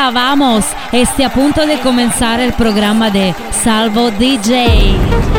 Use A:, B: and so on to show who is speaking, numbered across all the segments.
A: arriba, vamos. Esté a punto de comenzar el programa de Salvo DJ.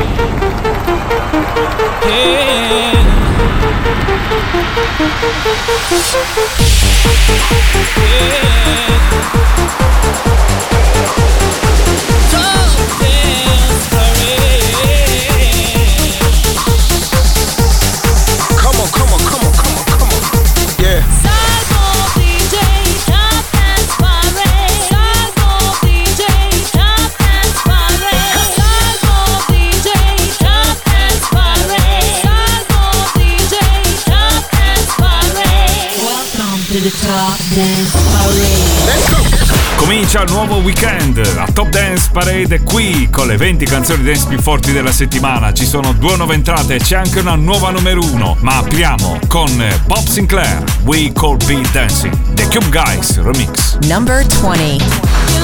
B: Comincia il nuovo weekend, la Top Dance Parade è qui con le 20 canzoni dance più forti della settimana. Ci sono 2 nuove entrate e c'è anche una nuova numero 1. Ma apriamo con Bob Sinclair, We Could Be Dancing, The Cube Guys Remix.
C: Number 20.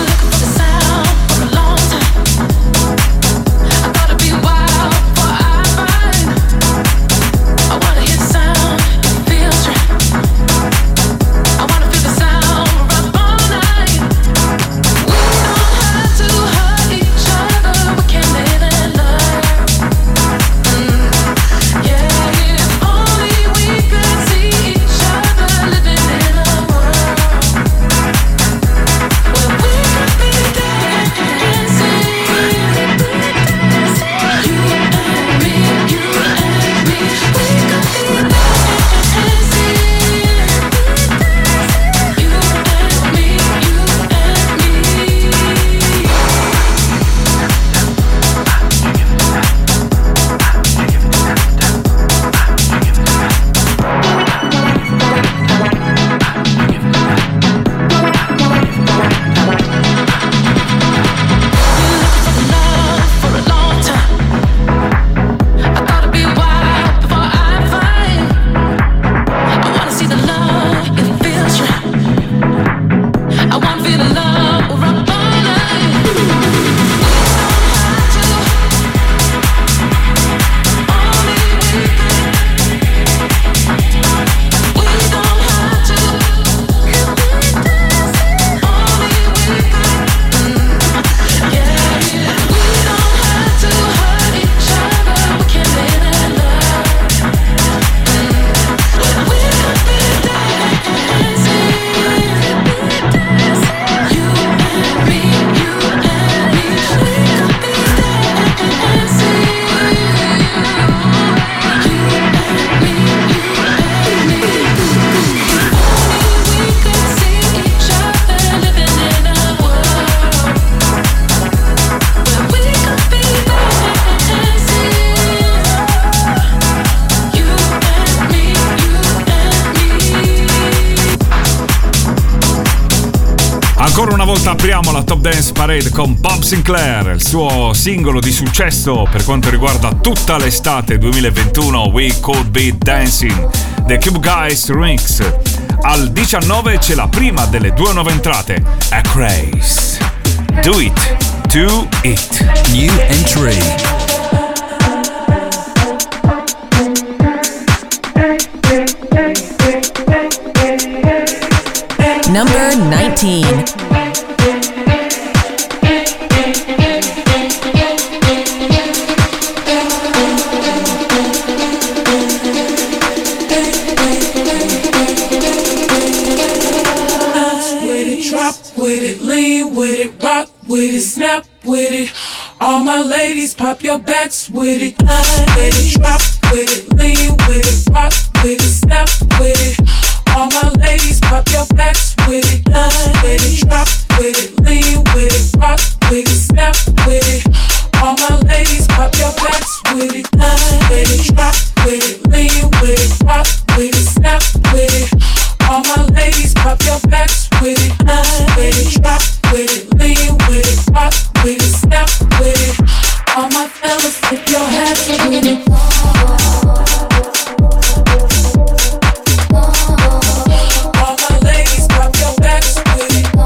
B: Ancora una volta apriamo la Top Dance Parade con Bob Sinclair, il suo singolo di successo per quanto riguarda tutta l'estate 2021, We Could Be Dancing, The Cube Guys Remix. Al 19 c'è la prima delle 2 nuove entrate, A Craze. Do It, Do It.
D: New entry.
C: Number 19.
E: Snap with it, all my ladies pop your backs with it. With it, drop with it, lean with it, rock with it, snap with it. All my ladies pop your backs with it. With it, drop with it, lean with it, rock with it, snap with it. All my ladies pop your backs with it. With it, drop with it, lean with it, rock with it, snap with it. All my ladies pop your backs with it. With it, drop with it, lean with it, rock with it, snap with it. All my fellas, if your hands with it. All my ladies pop your backs with it.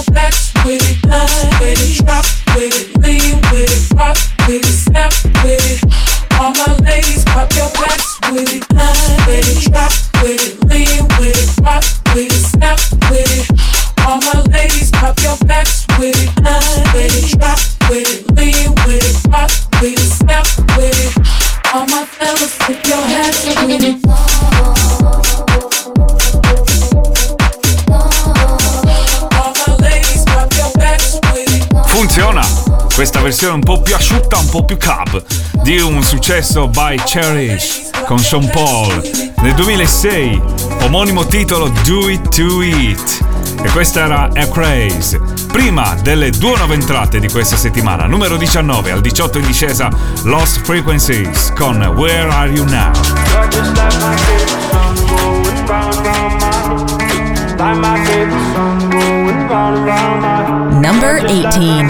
E: backs with it, line with it, drop with it, lean with it, rock with it, snap with it. All my ladies, pop your backs with it, line with it, drop with it, lean with it, rock with it, snap with it. All my ladies, pop your backs with it, line with it, drop with it, lean with it, rock with it, snap with it. All my fellas, tip your hats with it.
B: Funziona! Questa versione un po' più asciutta, un po' più club di un successo by Cherish con Sean Paul nel 2006, omonimo titolo Do It To It, e questa era A Craze. Prima delle due nuove entrate di questa settimana, numero 19, al 18 in discesa Lost Frequencies con Where Are You Now?
C: Number 18.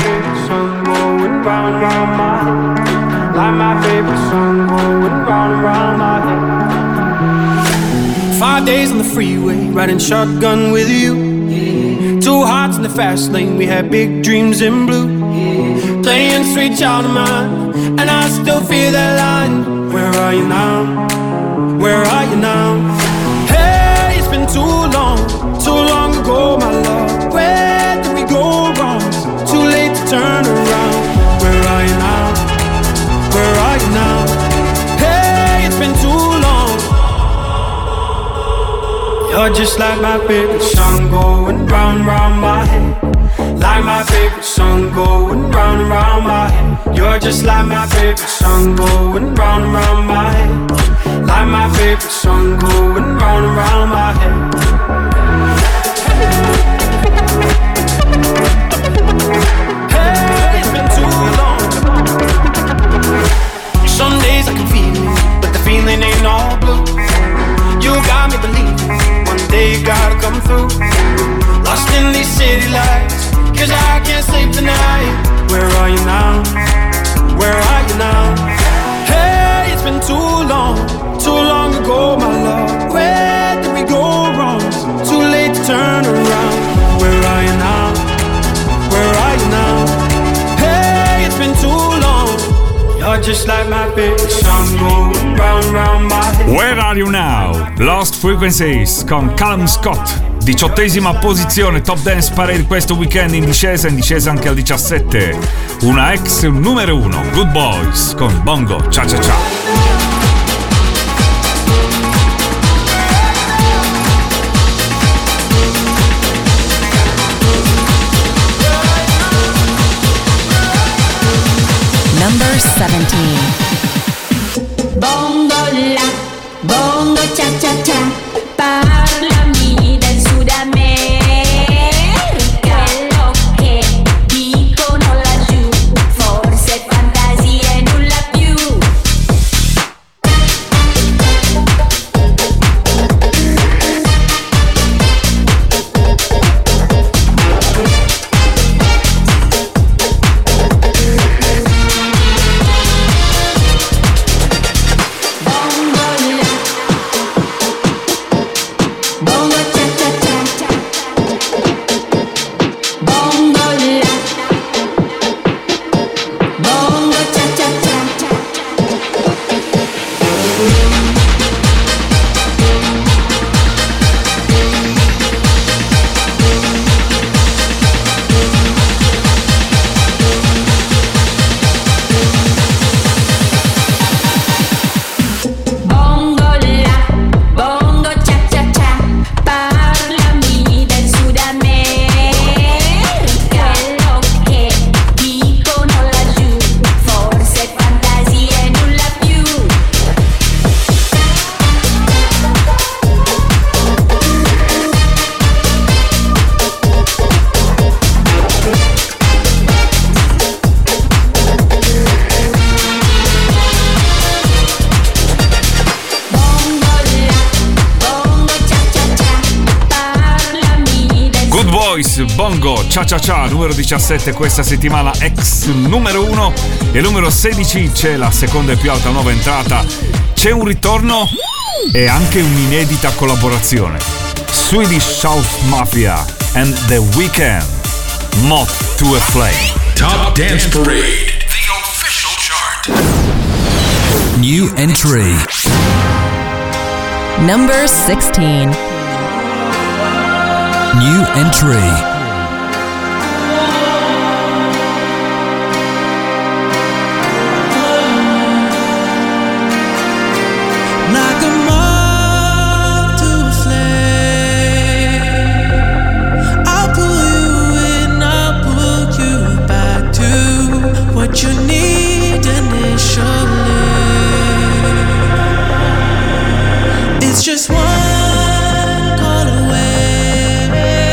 D: Like my favorite song going round and round my head. 5 days on the freeway, riding shotgun with you. Yeah. 2 hearts in the fast lane, we had big dreams in blue. Yeah. Playing sweet child of mine, and I still feel that line. Where are you now? Where are you now? Hey, it's been too long ago, my love. Where did we go wrong? Too late to turn around. Where are you now? Where are you now? Hey, it's been too long. You're just like my favorite song going round, round my head. Like my favorite song going round and round my head. You're just like my favorite song going round and round my head. Like my favorite song going round and round my head. Hey, it's been too long. Some days I can feel it, but the feeling ain't all blue. You got me believing one day you gotta come through. Lost in these city lights, 'cause I can't sleep tonight. Where are you now? Where are you now? Hey, it's been too long ago, my love. Where did we go wrong? Too late to turn around. Where are you now? Where are you now? Hey, it's been too long. You're just like my favorite song going round, round my head.
B: Where Are You Now? Lost Frequencies con Callum Scott. 18ª posizione Top Dance Parade questo weekend in discesa anche al 17. Una ex numero 1, Good Boys con Bongo Cha Cha Cha.
C: Number 17.
F: Bongo la, bongo cha cha cha, parlami del Sud America. Quello che dicono laggiù, forse fantasia e nulla più.
B: Bongo Cha Cha Cha, numero 17 questa settimana, ex numero 1, e numero 16 c'è la seconda e più alta nuova entrata. C'è un ritorno e anche un'inedita collaborazione. Swedish House Mafia and The Weeknd Moth to a Flame.
G: Top Dance Parade, the official chart. New entry.
C: Number 16.
G: New entry.
E: You need initially. It's just one call away,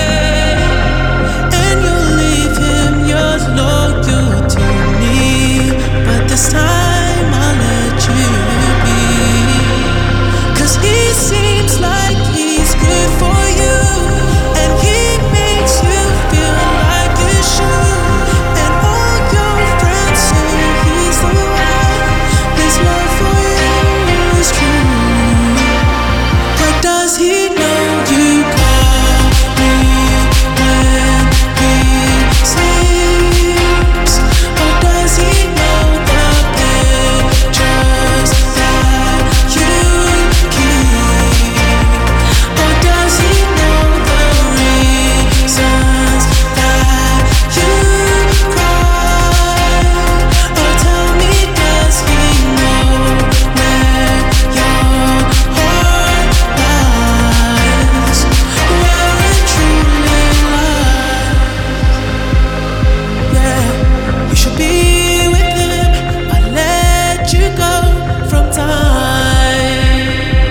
E: and you'll leave him yours loyal to me. But this time I'll let you be, 'cause he seems like he's good for you, and he makes you feel like you should. Does he know you call me when he sleeps? Or does he know the pictures that you keep? Or does he know the reasons that you cry? Or tell me, does he know where your heart lies? Where it truly lies. Yeah, you should be with him. I let you go from time.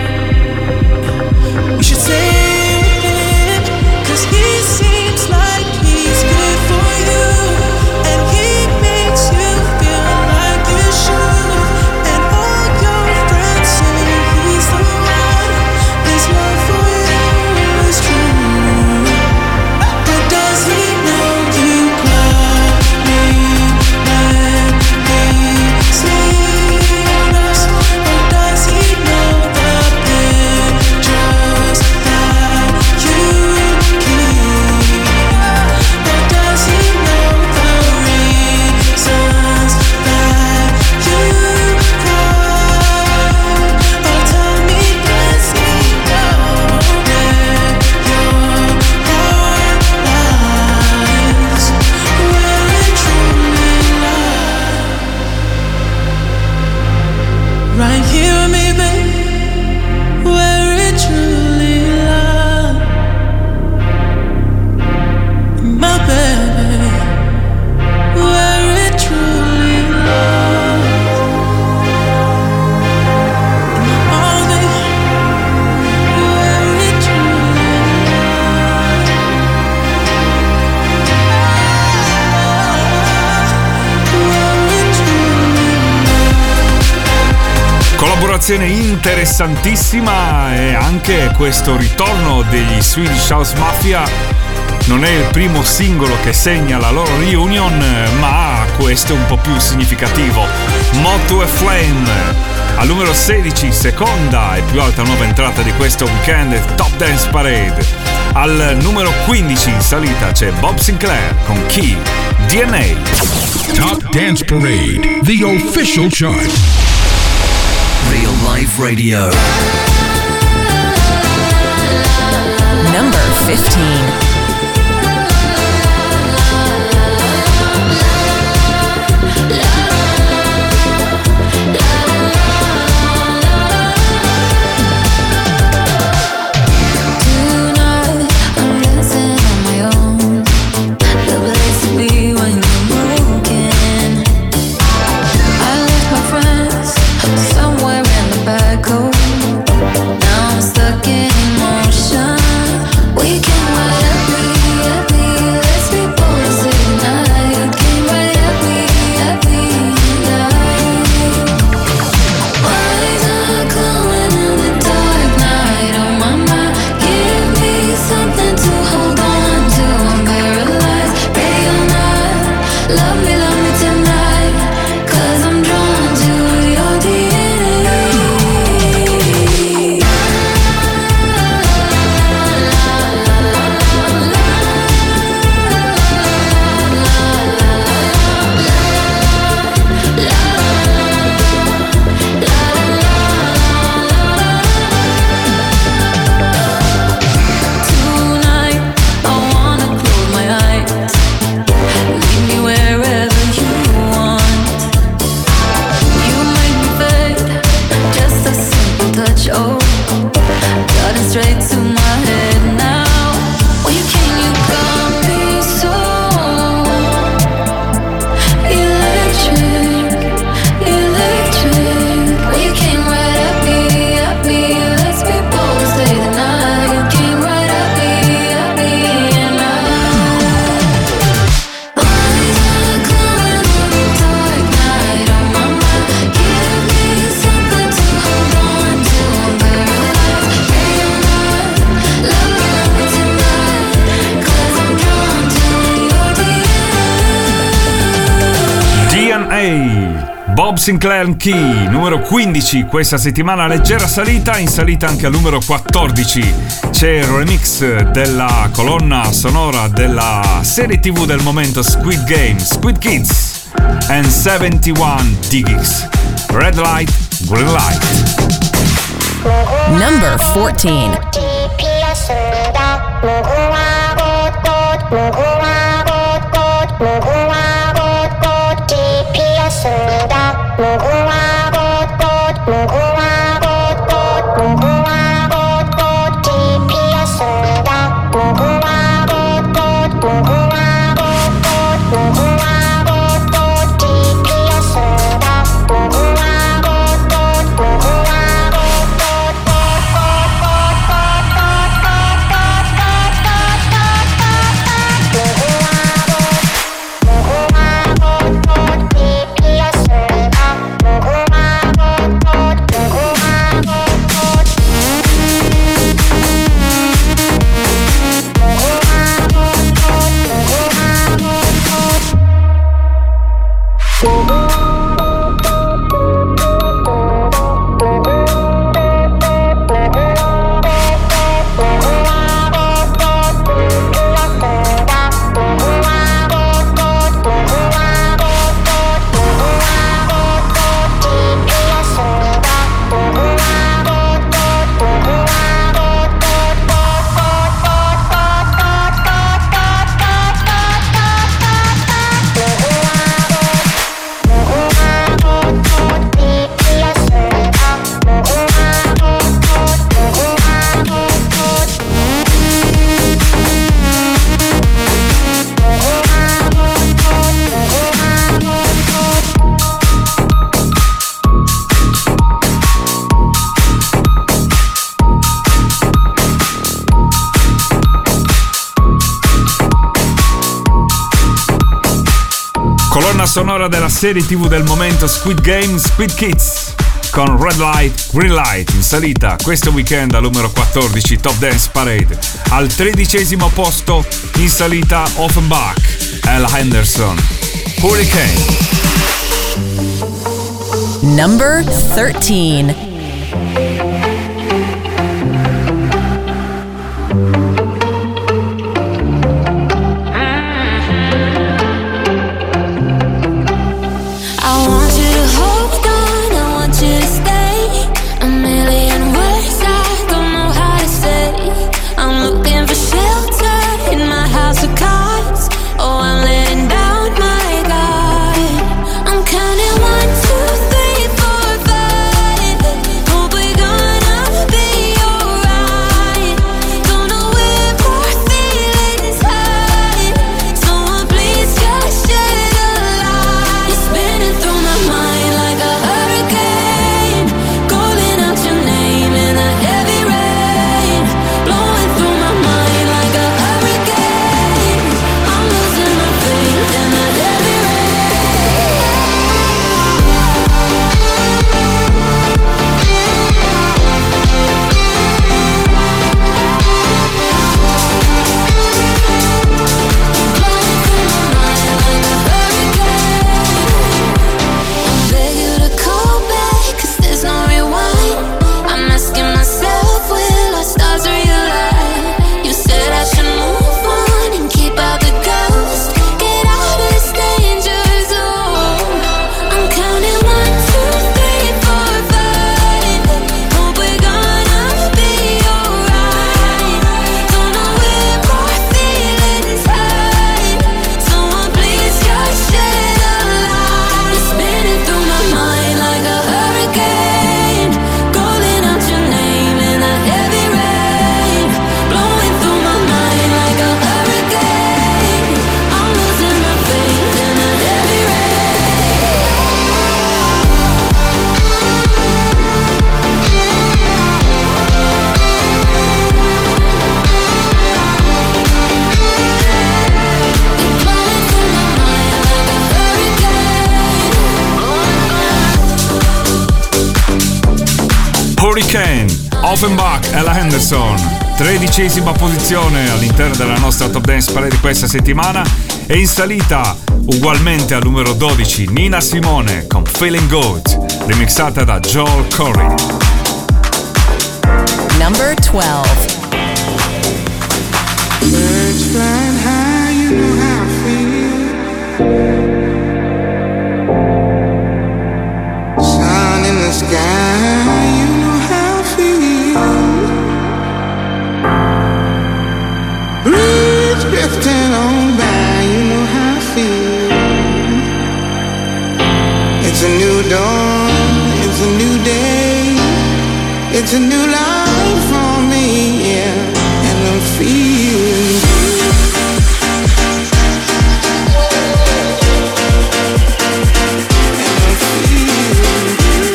E: You should stay with him, 'cause he seems like he's good for you, and he makes you feel like you should. And all your friends say he's the one. His love for you is true. But does he know you call me when he sleeps? Or does he know the pictures that you keep? Or does he know the reasons that you cry? Or tell me, does he know where your heart lies? Where it truly lies? Right here with me, babe, where it truly lies. My baby, where it truly lies. In my arms, baby, where it truly lies. Where it truly lies.
B: Collaborazione interessantissima, e anche questo ritorno degli Swedish House Mafia non è il primo singolo che segna la loro reunion, ma questo è un po' più significativo. Moth to a Flame, al numero 16, seconda e più alta nuova entrata di questo weekend, Top Dance Parade. Al numero 15 in salita c'è Bob Sinclair con Key, DNA.
G: Top Dance Parade, the official chart.
H: Real Life Radio.
C: Number 15.
F: Now I'm stuck in emotion. We can whatever.
B: Section A, Bob Sinclair Key, numero 15 questa settimana, leggera salita, in salita anche al numero 14 c'è il remix della colonna sonora della serie TV del momento Squid Game, Squid Kids and 71 Digits, Red Light, Green Light.
C: Number 14.
B: Colonna sonora della serie TV del momento Squid Game, Squid Kids con Red Light, Green Light, in salita questo weekend al numero 14 Top Dance Parade. Al 13° posto in salita Offenbach, Ella Henderson, Hurricane.
C: Number 13.
B: Hurricane, Offenbach, Ella Henderson, 13° posizione all'interno della nostra Top Dance Parade di questa settimana. E in salita Ugualmente al numero 12 Nina Simone con Feeling Good, remixata da Joel Corry.
C: Number 12.
I: Birds flying high, you know how I feel. Sun in the sky, you know how I feel. Breeze drifting on by, you know how I feel. It's a new dawn, it's a new day, it's a new life for me, yeah. And I'm feeling good. And I'm feeling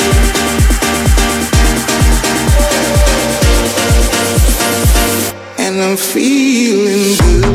I: good. And I'm feeling good.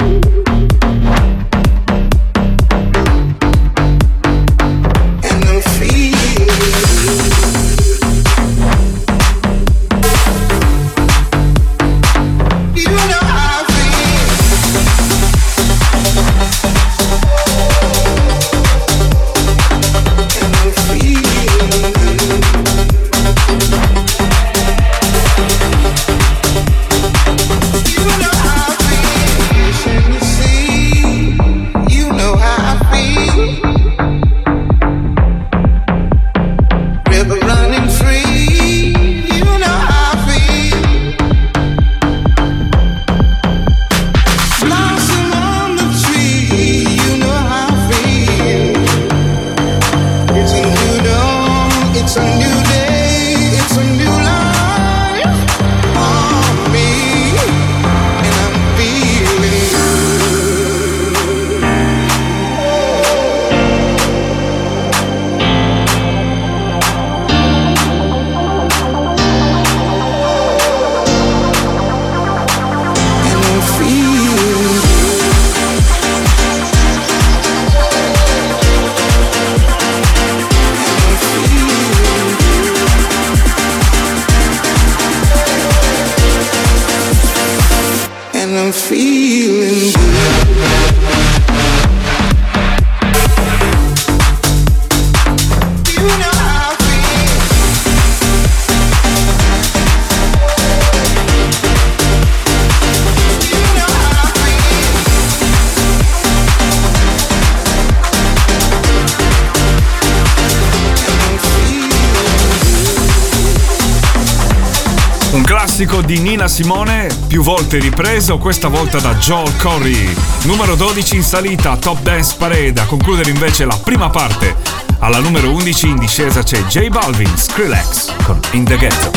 B: Di Nina Simone, più volte ripreso, questa volta da Joel Corry. Numero 12 in salita, Top Dance Parade. A concludere invece la prima parte, alla numero 11 in discesa c'è J Balvin, Skrillex con In The Ghetto.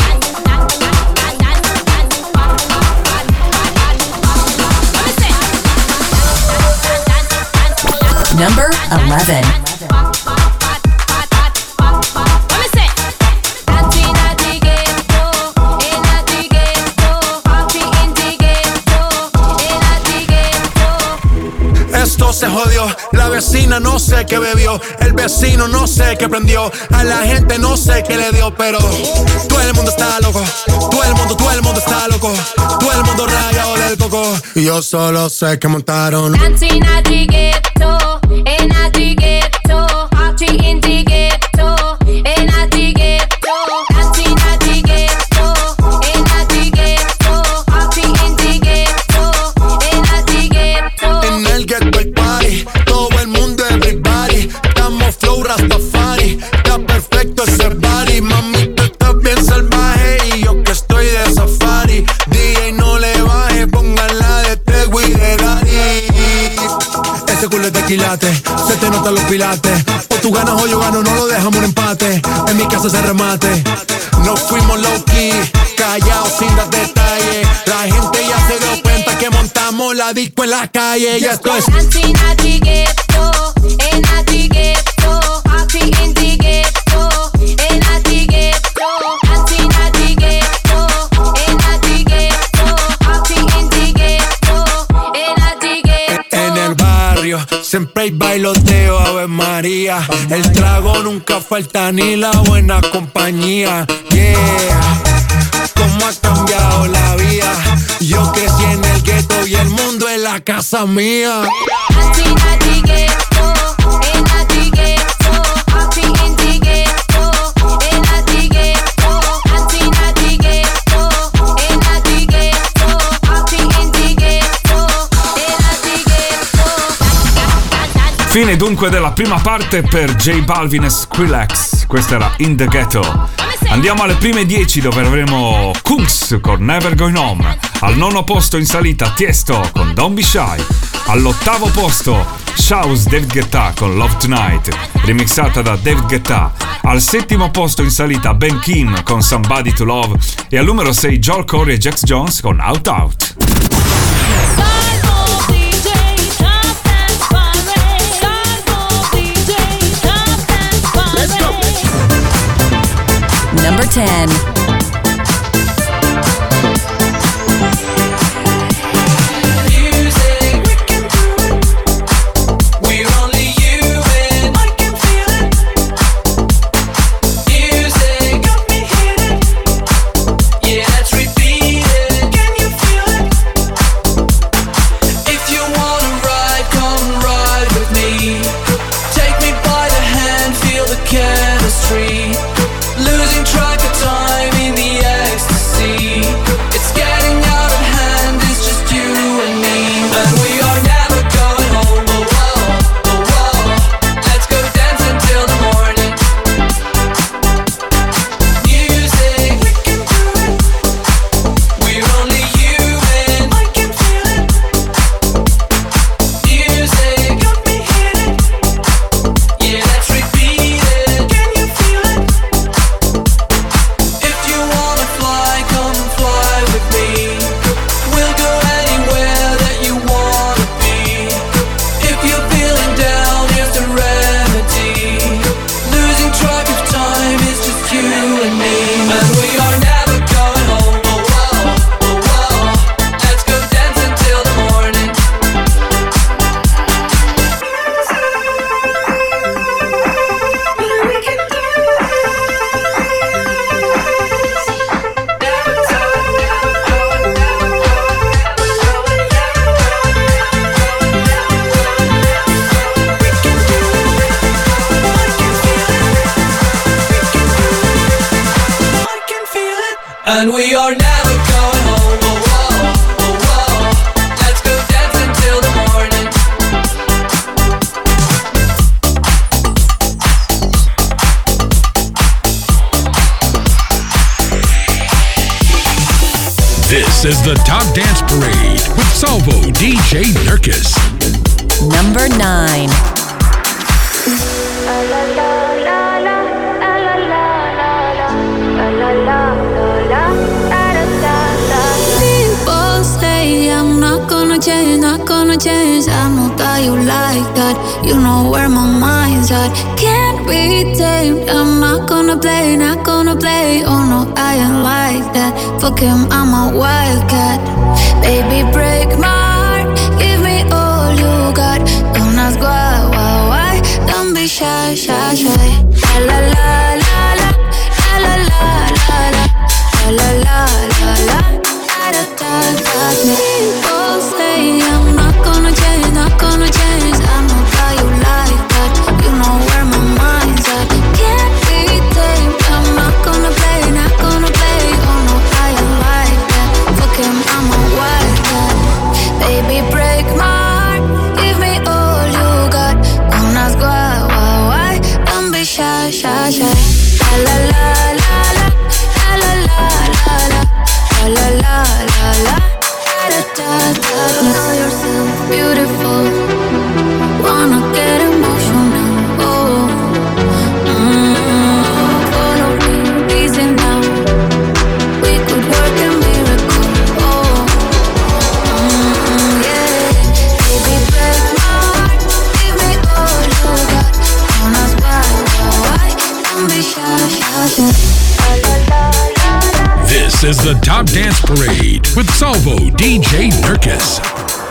C: Number 11.
J: Se jodió, la vecina no sé qué bebió, el vecino no sé qué prendió, a la gente no sé qué le dio, pero todo el mundo está loco, todo el mundo está loco, todo el mundo rayado del coco, y yo solo sé que montaron
F: Dancing at the ghetto, in at the ghetto, party in the ghetto, in at the ghetto, dancing at the ghetto, in at the ghetto, party in the ghetto, in at the ghetto.
J: En el ghetto hay party, todo el mundo everybody, estamos flow Rastafari, está perfecto ese body, mami tú estás bien salvaje y yo que estoy de safari, DJ no le baje, póngala de Tego y de Daddy. Ese culo es de quilate, se te notan los pilates, o tú ganas o yo gano, no lo dejamos un empate, en mi casa se remate, nos fuimos low key, callados sin dar detalles, la gente ya se dio cuenta que montamos la disco en la calle, y esto es
F: Dancing at the ghetto, in at the ghetto, party in the ghetto, in at the ghetto, dancing at the ghetto, in at the ghetto, party in the ghetto, in at the ghetto.
J: En el barrio siempre hay bailoteo, Ave María, el trago nunca falta ni la buena compañía, yeah. Cómo ha cambiado la vida, yo crecí en el gueto y el mundo es la casa mía.
F: Dancing at the ghetto,
B: Fine dunque della prima parte per J Balvin e Skrillex. Questa era In The Ghetto. Andiamo alle prime 10 dove avremo Kungs con Never Going Home. Al 9° posto in salita Tiesto con Don't Be Shy. All'8° posto Shouse David Guetta con Love Tonight, remixata da David Guetta. Al 7° posto in salita Ben Kim con Somebody to Love. E al numero 6 Joel Corey e Jax Jones con Out Out.
C: Number 10.
D: Losing track of time in the ecstasy. It's getting out of hand, it's just you and me. And we are never going home, oh, oh, oh, oh. Let's go dance until the morning. Music, we can do it. We're only human, I can feel it. Music, got me hitting. Yeah, let's repeat it. Can you feel it? If you wanna fly, come fly with me. We'll go anywhere that you wanna be. If you're feeling down, here's the remedy. Losing track of time is just you and me. And we are never going home, oh, oh, oh, oh. Let's go dance until the morning. We can do and we are never going home, oh, oh, oh, oh. Let's go dance until the morning.
G: This is the Top Dance Parade with Salvo DJ Nurkis.
C: Number 9.
F: People say I'm not gonna change, not gonna change. I know that you like that. You know where my mind's at. Can't be tamed. I'm not gonna play, not gonna play. Oh no, I ain't like that. Fuck him, I'm a wildcat. Baby, break my heart. Give me all you got. Don't ask why. Don't be shy, shy, shy. La la la la la. La la la la la. La la la la. People say I'm not gonna change, not gonna change. I know that you like that. You know where my mind's at. Can't be tamed. I'm not gonna play, not gonna play. Oh no, I ain't like that. Fuck him, I'm a wildcat. Baby, break my heart. Give me all you got. Don't ask why. Don't be shy, shy, shy. La la la la. La la la la la. La la la la. Know yourself beautiful. Wanna get emotional. Oh, follow me, easy now. We could work a miracle. Oh, yeah. Baby, break my heart. Give me all you got. Don't ask why. Don't be shy, shy, shy.
G: This is the Top Dance Parade with Salvo DJ Nurkis.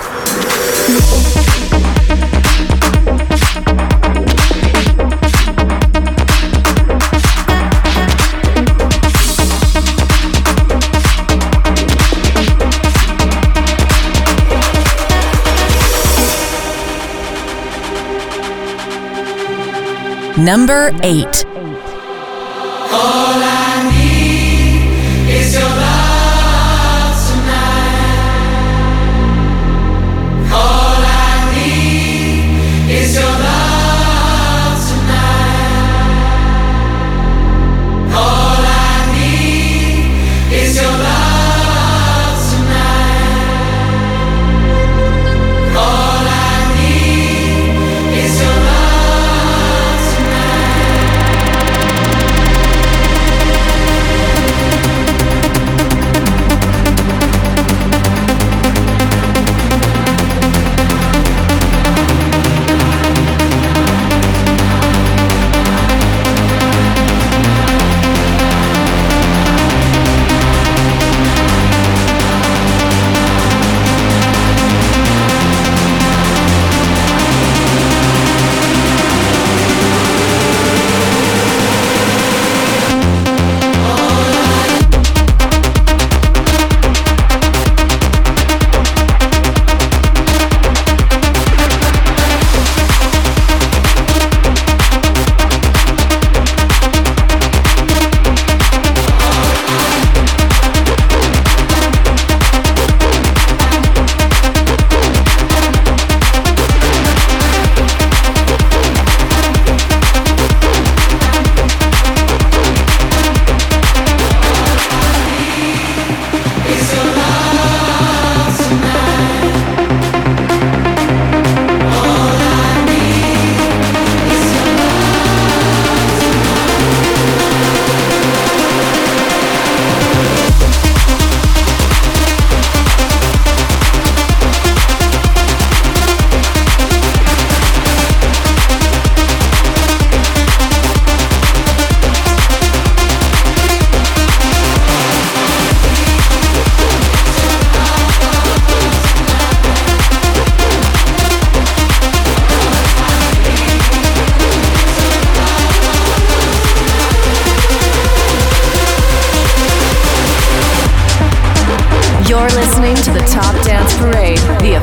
C: Number 8.
D: All I need is your love tonight. All I need is your love.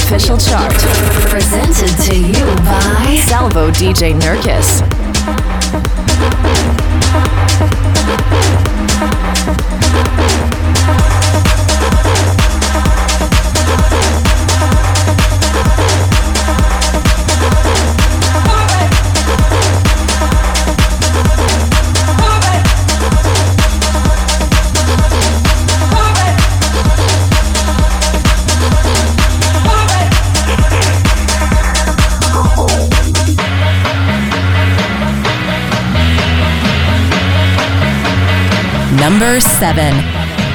C: official chart.
K: Presented to you by
C: Salvo DJ Nurkis. Number 7.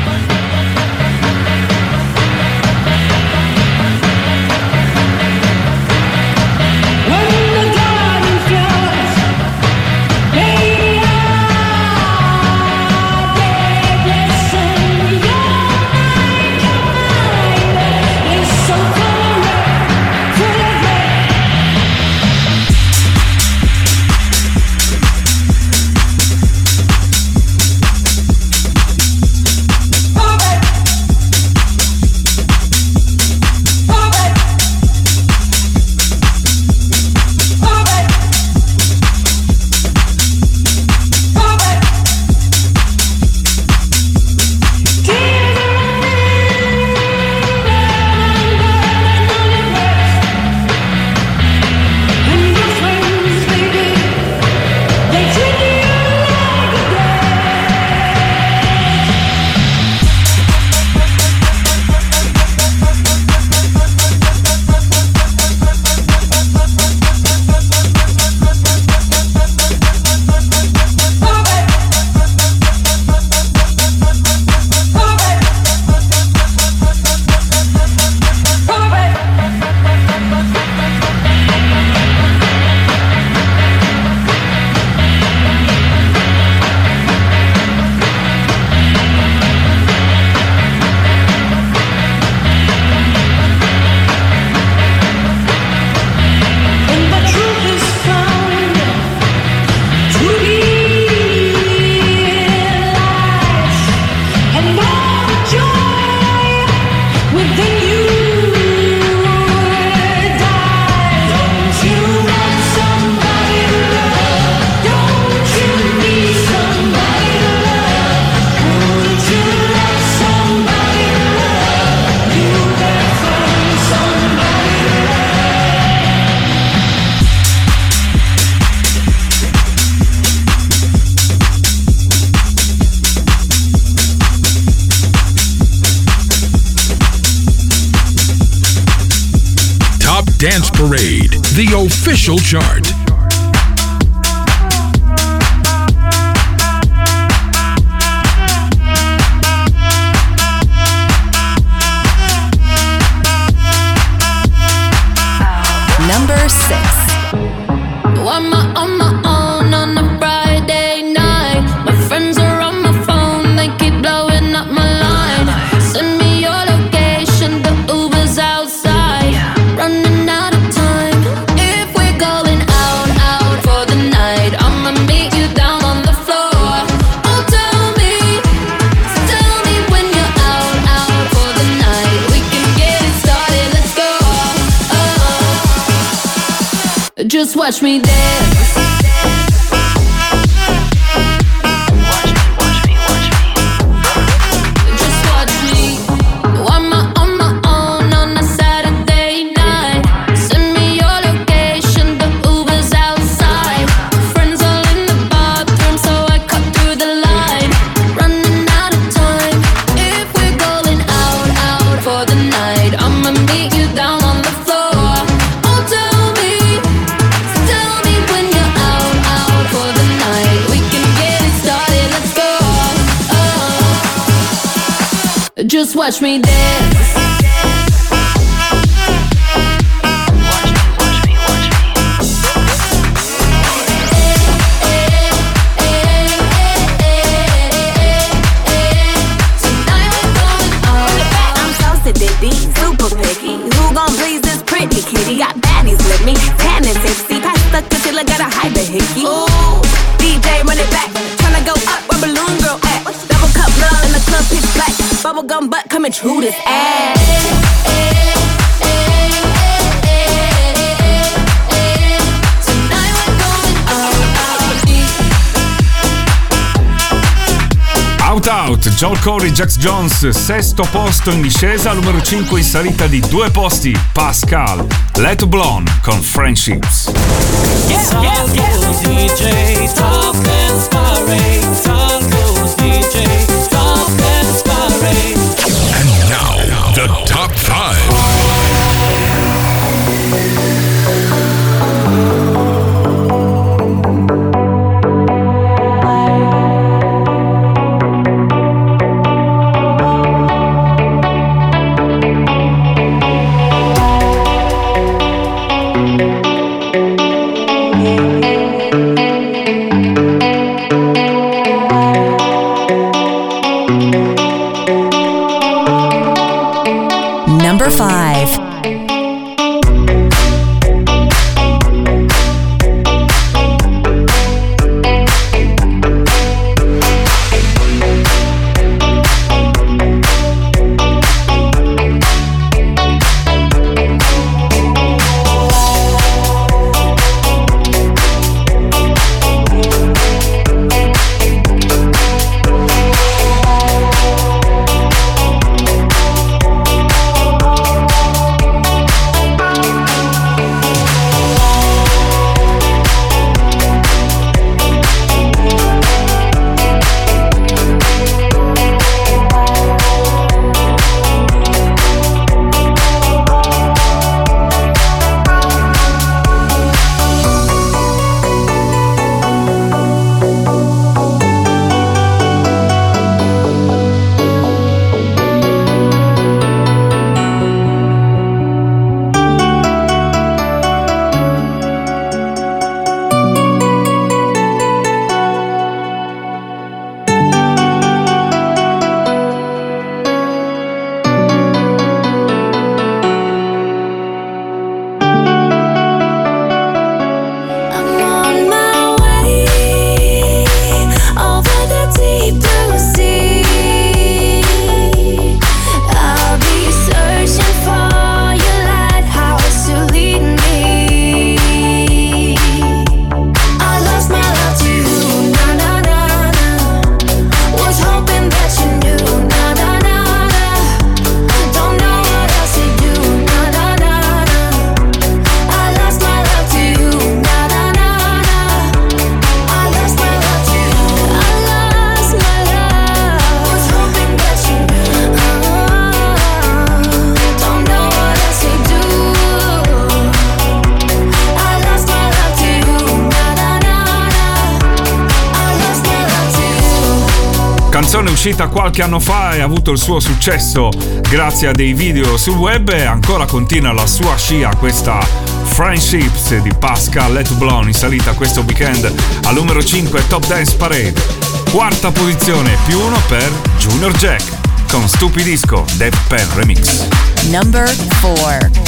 G: Dance Parade, the official chart.
C: Number 6.
F: On my own on a Friday night. My friends are on my phone, they keep blowing up my line. Send me your location, the Uber's outside. Running out of time. If we're going out for the night, I'ma meet you down on the floor. Oh, tell me when you're out for the night. We can get it started, let's go. Just watch me dance. Just watch me dance.
L: Super picky. Who gon' please this pretty kitty? Got baddies with me, tan and tipsy. Pass the concealer, gotta hide the hickey. Ooh, DJ run it back, tryna go up where Balloon Girl at. Double cup love in the club, pitch black. Bubblegum butt coming through this ass.
B: Out, Joel Corey, Jax Jones, sesto posto in discesa, numero 5 in salita di 2 posti, Pascal, Let Blonde con Friendships.
G: And now, the top 5.
C: Number 5.
B: Canzone uscita qualche anno fa e ha avuto il suo successo grazie a dei video sul web e ancora continua la sua scia questa Friendships di Pascal Let Blonde in salita questo weekend al numero 5 Top Dance Parade. Quarta posizione +1 per Junior Jack con Stupidisco Dave Penn Remix.
C: Number 4.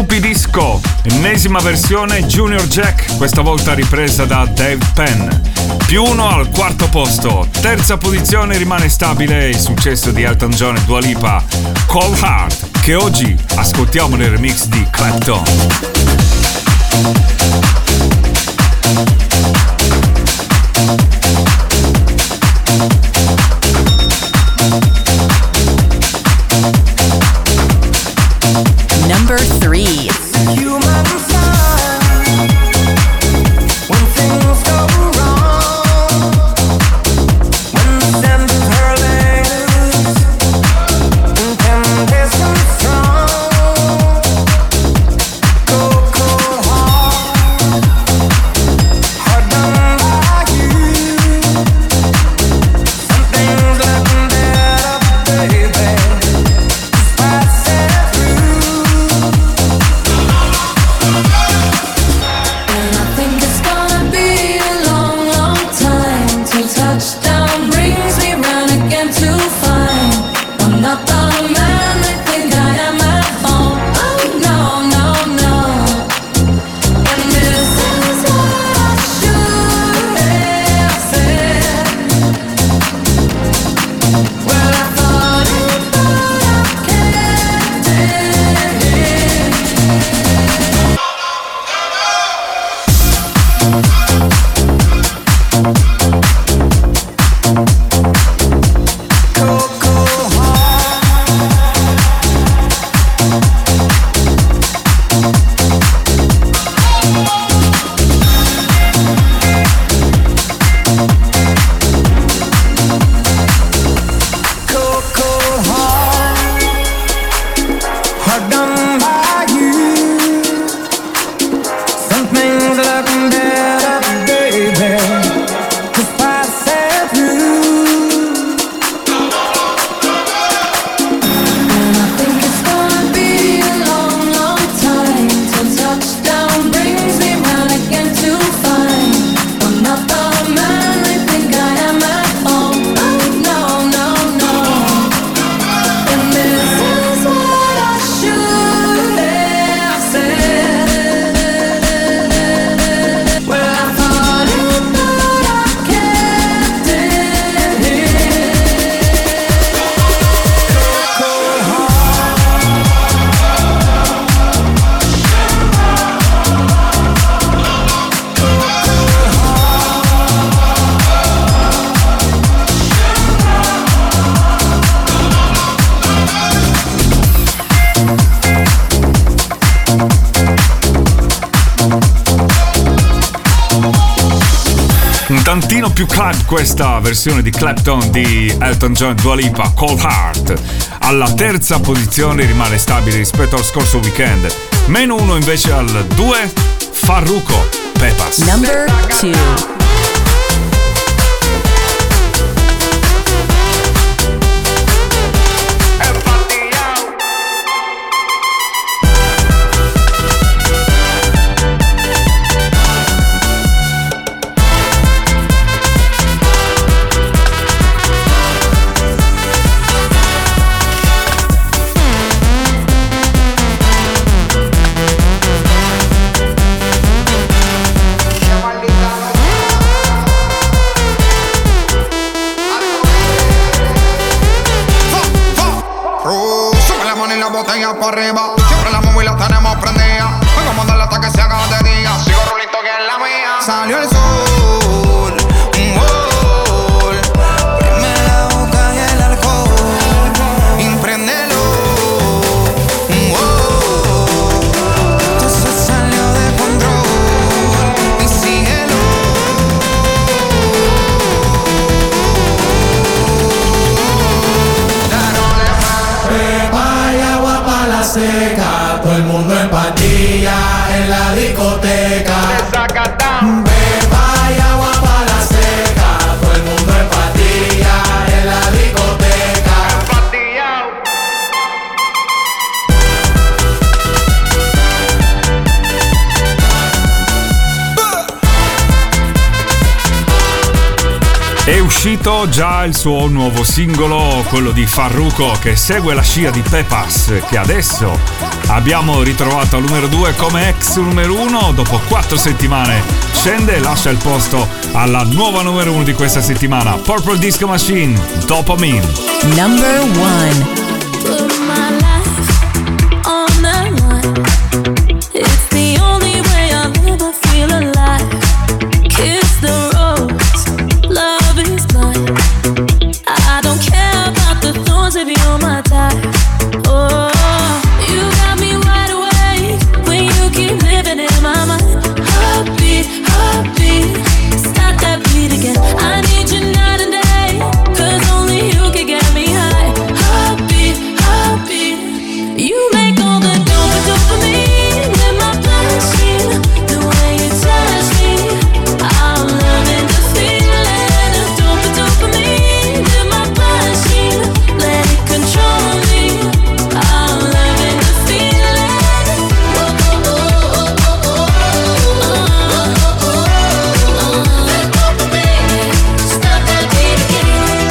B: Stupidisco, ennesima versione Junior Jack, questa volta ripresa da Dave Penn. +1 al quarto posto. Terza posizione rimane stabile il successo di Elton John e Dua Lipa, Cold Heart, che oggi ascoltiamo nel remix di Clapton.
C: Number 3.
B: tantino più club questa versione di Clapton di Elton John e Dua Lipa, Cold Heart. Alla terza posizione rimane stabile rispetto al scorso weekend. -1 invece al 2, Farruko, Pepas.
C: Number 2.
M: Arriba, siempre la móvil la tenemos prendida. Vengo a mandarle hasta que se haga de día. Sigo rulito que es la mía. Salió el sol, un gol. Prende la boca y el alcohol. Impréndelo, un gol. Esto se salió de control. Y síguelo.
J: Pepa y agua pa' la seca, todo el mundo en patilla en la discoteca. Pepa y agua pa' la seca, todo el mundo en patilla en la discoteca.
B: È uscito già il suo nuovo singolo, quello di Farruko, che segue la scia di Pepas, che adesso abbiamo ritrovato al numero 2 come ex numero 1. Dopo 4 settimane scende e lascia il posto alla nuova numero 1 di questa settimana, Purple Disco Machine, Dopamine.
C: Number 1.
L: Put my life on the line. It's the only way I'll ever feel alive. Kiss the rose, love is blind. I don't care about the thorns if you're my type. Oh, you got me wide awake when you keep living in my mind. Heartbeat, heartbeat, start that beat again. I need you night and day, 'cause only you can get me high. Heartbeat, heartbeat, you make all the dopamine in my bloodstream. The way you touch me, I'm loving the feeling of dopamine in my bloodstream. Let it control me. I'm loving the feeling. That dopamine, stop that beat again.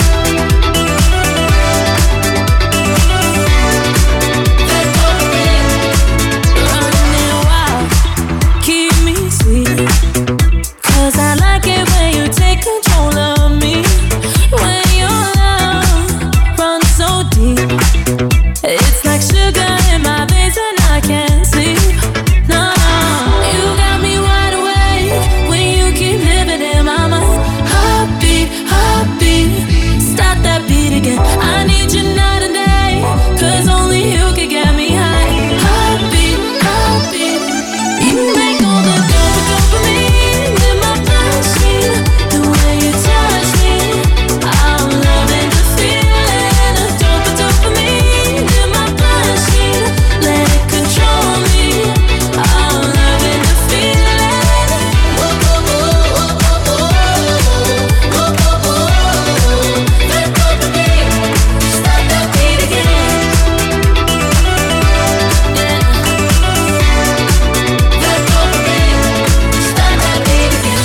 L: That dopamine, running wild, keep me sweet. 'Cause I like it when you take control of me. When your love runs so deep, it's like sugar in my veins and I can't sleep. No, you got me wide awake when you keep living in my mind. Heartbeat, heartbeat, start that beat again. I need you night and day, 'cause only you can get me high. Heartbeat, heartbeat, you make all the dopamine in my bloodstream. The way you touch me, I'm loving the feeling of dopamine in my bloodstream. Let it control me. I'm loving the feeling. That dopamine, start that beat again. Yeah. That dopamine, start that beat again.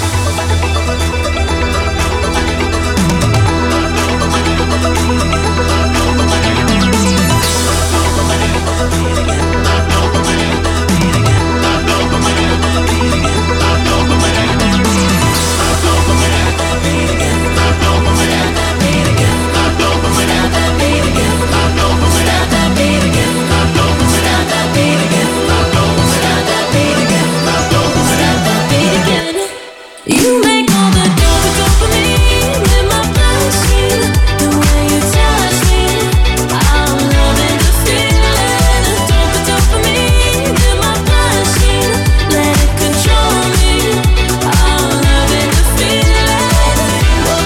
L: You make all the dopamine in my bloodstream. The way you touch me, I'm loving the feeling of dopamine in my bloodstream. Let it control me. I'm loving the feeling. That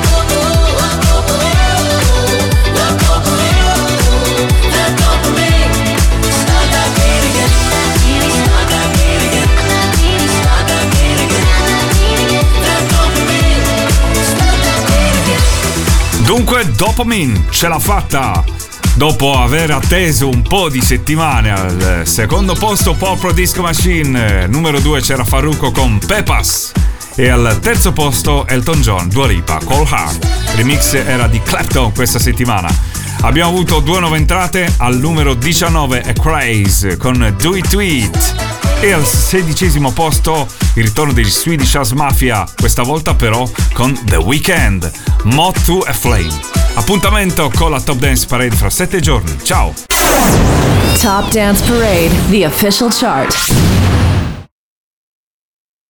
L: dopamine, start that beat again. Start that beat again. Start that beat again. That dopamine, start that beat again.
B: Dunque Dopamine ce l'ha fatta. Dopo aver atteso un po' di settimane, al secondo posto Purple Disco Machine, numero 2 c'era Farruko con Pepas e al terzo posto Elton John, Dua Lipa, Cold Heart. Remix era di Clapton questa settimana. Abbiamo avuto 2 nuove entrate, al numero 19 è Craze con Do It To It e al 16° posto il ritorno degli Swedish House Mafia, questa volta però con The Weeknd, Moth to a Flame. Appuntamento con la Top Dance Parade fra 7 giorni. Ciao!
C: Top Dance Parade, the official chart.